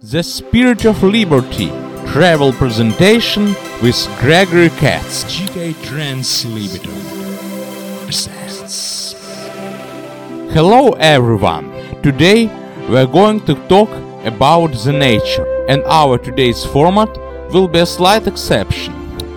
The Spirit of Liberty travel presentation with Gregory Katz. GK Translator presents. Hello everyone! Today we are going to talk about the nature, and our today's format will be a slight exception.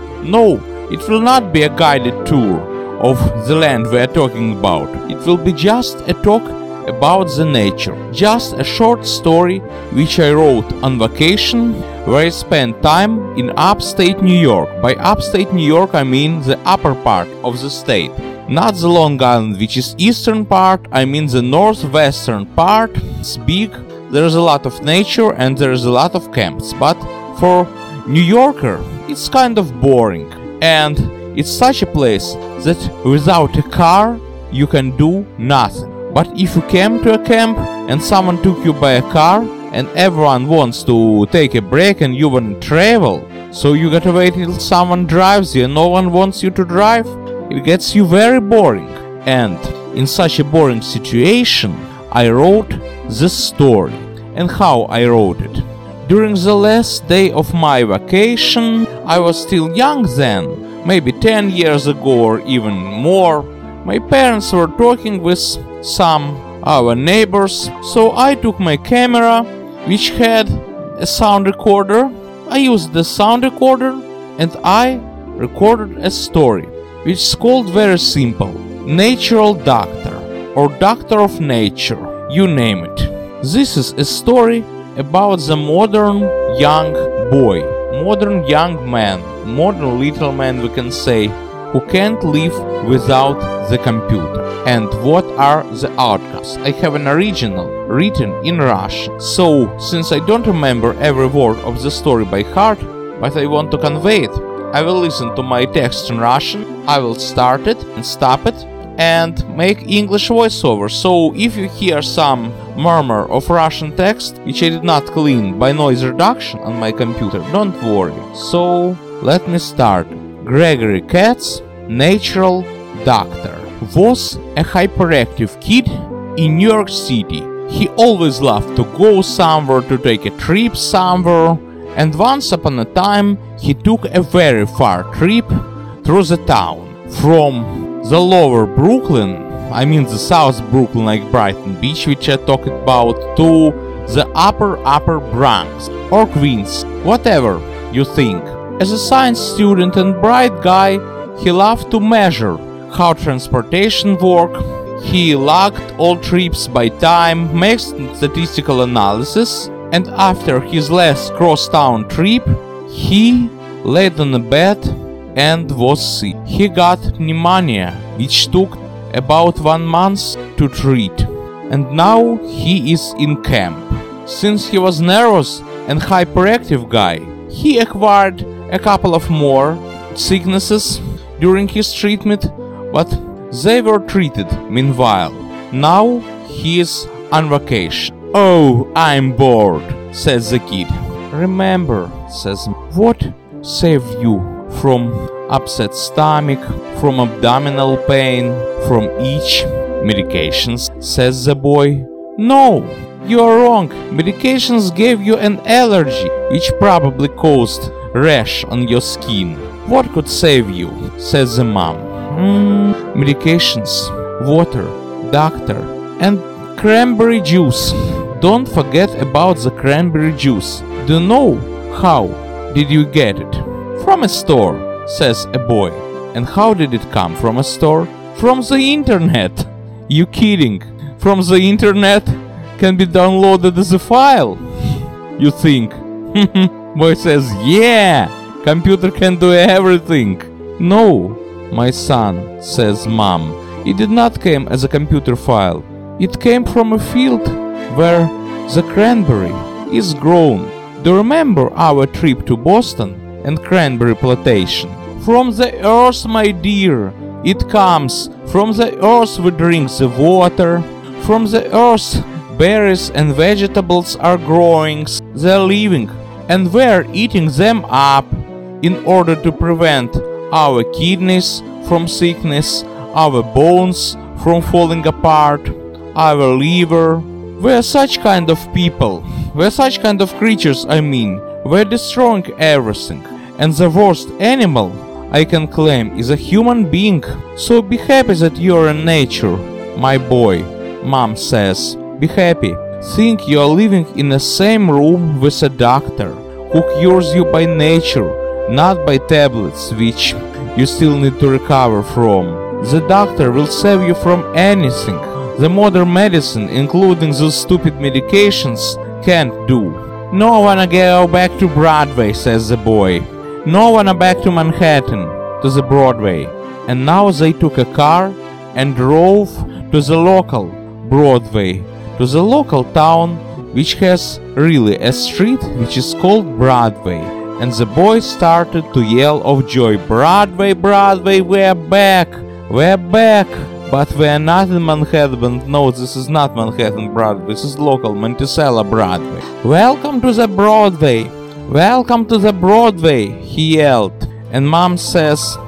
No, it will not be a guided tour of the land we are talking about. It will be just a talk about the nature, just a short story which I wrote on vacation, where I spent time in upstate New York. By upstate New York I mean the upper part of the state, not the Long Island, which is eastern part. I mean the northwestern part. It's big, there's a lot of nature and there's a lot of camps, but for New Yorker it's kind of boring, and it's such a place that without a car you can do nothing. But if you came to a camp and someone took you by a car and everyone wants to take a break and you want to travel, so you gotta wait till someone drives you and no one wants you to drive, it gets you very boring. And in such a boring situation, I wrote this story. And how I wrote it? During the last day of my vacation, I was still young then, maybe 10 years ago or even more. My parents were talking with some our neighbors, so I took my camera, which had a sound recorder. I used the sound recorder and I recorded a story, which is called very simple: Natural Doctor, or Doctor of Nature, you name it. This is a story about the modern young boy, modern young man, modern little man we can say, who can't live without the computer. And what are the outcomes? I have an original written in Russian, so since I don't remember every word of the story by heart, but I want to convey it, I will listen to my text in Russian, I will start it and stop it and make English voiceover. So if you hear some murmur of Russian text which I did not clean by noise reduction on my computer, don't worry. So let me start. Gregory Katz, Natural Doctor, was a hyperactive kid in New York City. He always loved to go somewhere, to take a trip somewhere, and once upon a time he took a very far trip through the town. From the lower Brooklyn, I mean the South Brooklyn like Brighton Beach, which I talked about, to the upper Bronx or Queens, whatever you think. As a science student and bright guy, he loved to measure how transportation worked. He logged all trips by time, made statistical analysis, and after his last cross-town trip, he laid on a bed and was sick. He got pneumonia, which took about 1 month to treat, and now he is in camp. Since he was nervous and hyperactive guy, he acquired a couple of more sicknesses during his treatment, but they were treated meanwhile. Now he is on vacation. "Oh, I'm bored," says the kid. "Remember," says, "what saved you from upset stomach, from abdominal pain, from itch? Medications," says the boy. "No, you are wrong. Medications gave you an allergy, which probably caused rash on your skin. What could save you?" says the mom. Medications, water, doctor, and cranberry juice. Don't forget about the cranberry juice. Do you know how did you get it? From a store, says a boy. And how did it come from a store? From the internet. You kidding? From the internet can be downloaded as a file. You think? Boy says, yeah, computer can do everything. No, my son, says mom, it did not come as a computer file. It came from a field where the cranberry is grown. Do you remember our trip to Boston and cranberry plantation? From the earth, my dear. It comes from the earth. We drink the water. From the earth, berries and vegetables are growing. They're living, and we're eating them up in order to prevent our kidneys from sickness, our bones from falling apart, our liver. We're such kind of people. We're such kind of creatures, we're destroying everything. And the worst animal I can claim is a human being. So be happy that you're in nature, my boy, Mom says. Be happy. Think you're living in the same room with a doctor who cures you by nature, not by tablets which you still need to recover from. The doctor will save you from anything the modern medicine, including those stupid medications, can't do. No wanna go back to Broadway, says the boy. No wanna back to Manhattan, to the Broadway. And now they took a car and drove to the local Broadway, to the local town which has really a street which is called Broadway. And the boy started to yell of joy, Broadway, Broadway, we're back, we're back. But we're not in Manhattan. No, this is not Manhattan Broadway, this is local Monticello Broadway. Welcome to the Broadway, welcome to the Broadway, he yelled. And Mom says,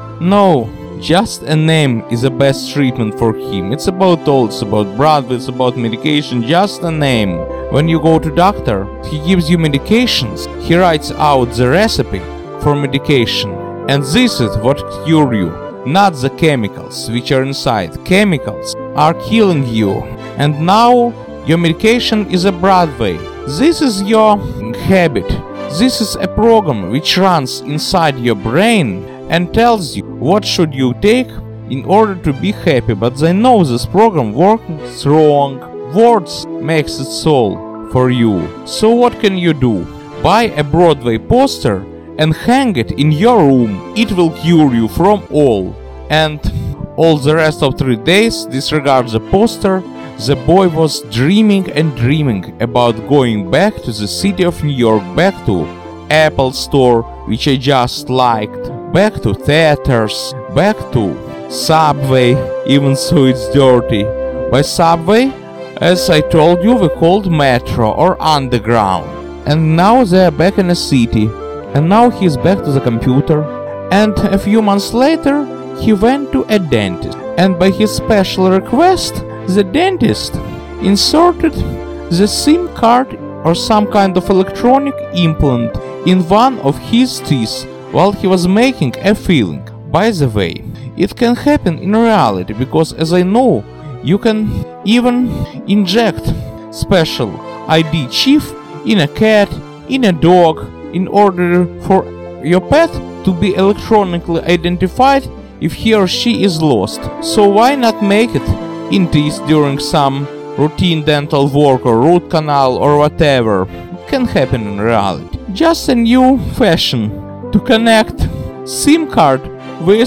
no, just a name is the best treatment for him. It's about all, it's about Broadway, it's about medication, just a name. When you go to doctor, he gives you medications, he writes out the recipe for medication. And this is what cures you, not the chemicals which are inside. Chemicals are killing you. And now your medication is a Broadway. This is your habit. This is a program which runs inside your brain and tells you what should you take in order to be happy. But they know this program works wrong. Words makes it so for you. So what can you do? Buy a Broadway poster and hang it in your room. It will cure you from all. And all the rest of 3 days, disregard the poster, the boy was dreaming and dreaming about going back to the city of New York, back to Apple Store, which I just liked, back to theaters, back to Subway, even so it's dirty. By Subway, as I told you, we called Metro or Underground. And now they are back in the city. And now he's back to the computer. And a few months later, he went to a dentist. And by his special request, the dentist inserted the SIM card or some kind of electronic implant in one of his teeth while he was making a filling. By the way, it can happen in reality because, as I know, you can even inject special ID chip in a cat, in a dog, in order for your pet to be electronically identified if he or she is lost. So why not make it in teeth during some routine dental work or root canal or whatever? It can happen in reality. Just a new fashion to connect SIM card with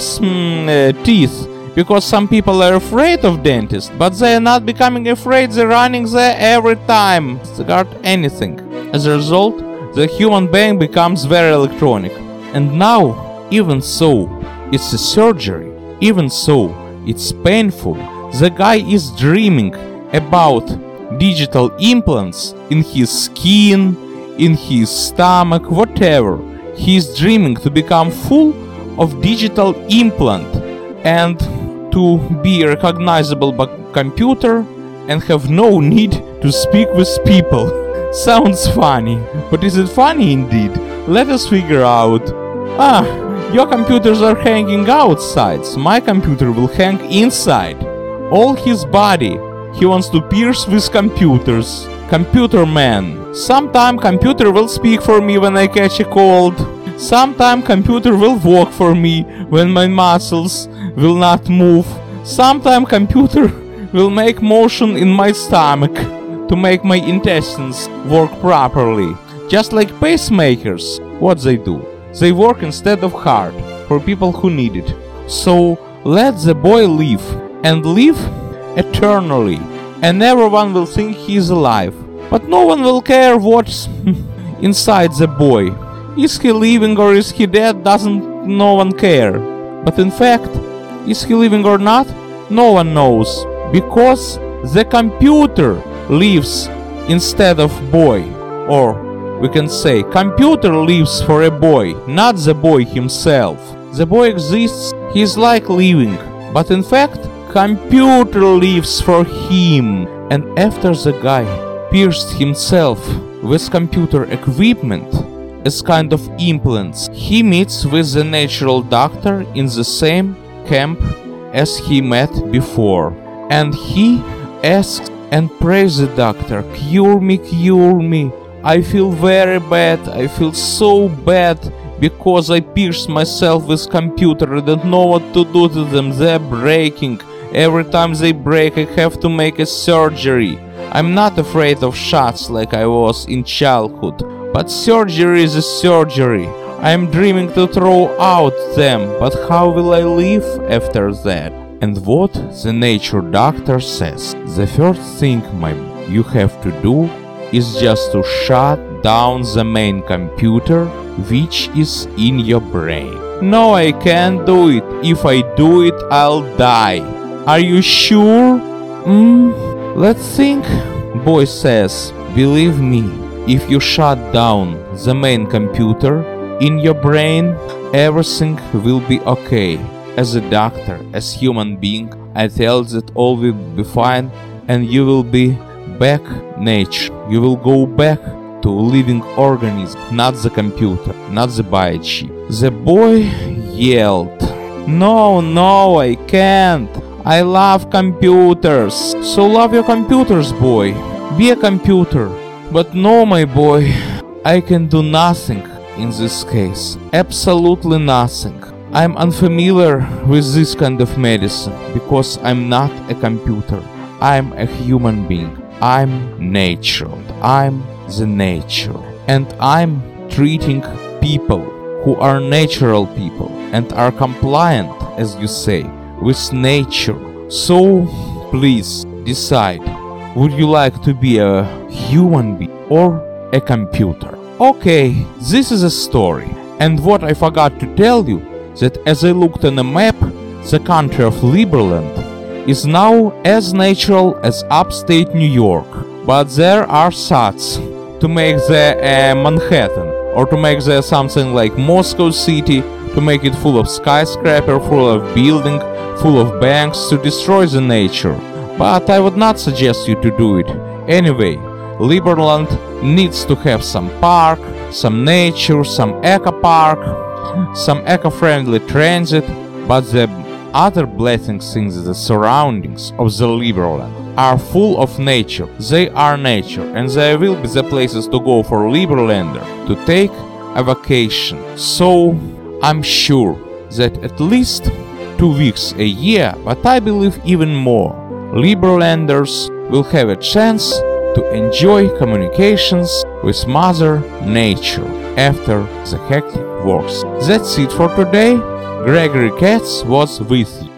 teeth, because some people are afraid of dentists, but they are not becoming afraid, they're running there every time. They got anything. As a result, the human being becomes very electronic. And now, even so, it's a surgery. Even so, it's painful. The guy is dreaming about digital implants in his skin, in his stomach, whatever. He's dreaming to become full of digital implant and to be recognizable by computer and have no need to speak with people. Sounds funny, but is it funny indeed? Let us figure out. Your computers are hanging outside, so my computer will hang inside. All his body he wants to pierce with computers. Computer man. Sometime computer will speak for me when I catch a cold. Sometime computer will walk for me when my muscles will not move. Sometime computer will make motion in my stomach to make my intestines work properly. Just like pacemakers, what they do? They work instead of heart for people who need it. So let the boy live and live eternally, and everyone will think he is alive. But no one will care what's inside the boy. Is he living or is he dead? Doesn't no one care. But in fact, is he living or not? No one knows, because the computer lives instead of boy. Or we can say computer lives for a boy, not the boy himself. The boy exists, he's like living, but in fact computer lives for him. And after the guy pierced himself with computer equipment as kind of implants. He meets with the natural doctor in the same camp as he met before, and he asks and prays the doctor, cure me, I feel very bad, I feel so bad, because I pierced myself with computer, I don't know what to do to them, they're breaking, every time they break I have to make a surgery. I'm not afraid of shots like I was in childhood, but surgery is a surgery. I'm dreaming to throw out them, but how will I live after that? And what the nature doctor says, the first thing you have to do is just to shut down the main computer which is in your brain. No, I can't do it. If I do it, I'll die. Are you sure? Let's think. Boy says, believe me, if you shut down the main computer in your brain, everything will be okay. As a doctor, as human being, I tell that all will be fine and you will be back nature. You will go back to living organism, not the computer, not the biochip. The boy yelled, No, I can't. I love computers. So love your computers, boy. Be a computer. But no, my boy, I can do nothing in this case. Absolutely nothing. I'm unfamiliar with this kind of medicine because I'm not a computer. I'm a human being. I'm nature. I'm the nature. And I'm treating people who are natural people and are compliant, as you say, with nature. So, please decide. Would you like to be a human being or a computer? Okay, this is a story. And what I forgot to tell you, that as I looked on a map, the country of Liberland is now as natural as upstate New York. But there are thoughts to make the Manhattan, or to make the something like Moscow City, to make it full of skyscraper, full of building, full of banks, to destroy the nature. But I would not suggest you to do it. Anyway, Liberland needs to have some park, some nature, some eco park, some eco-friendly transit, but the other blessings in the surroundings of the Liberland are full of nature. They are nature, and there will be the places to go for Liberlander to take a vacation. So I'm sure that at least 2 weeks a year, but I believe even more, Liberlanders will have a chance to enjoy communications with Mother Nature after the hectic works. That's it for today. Gregory Katz was with you.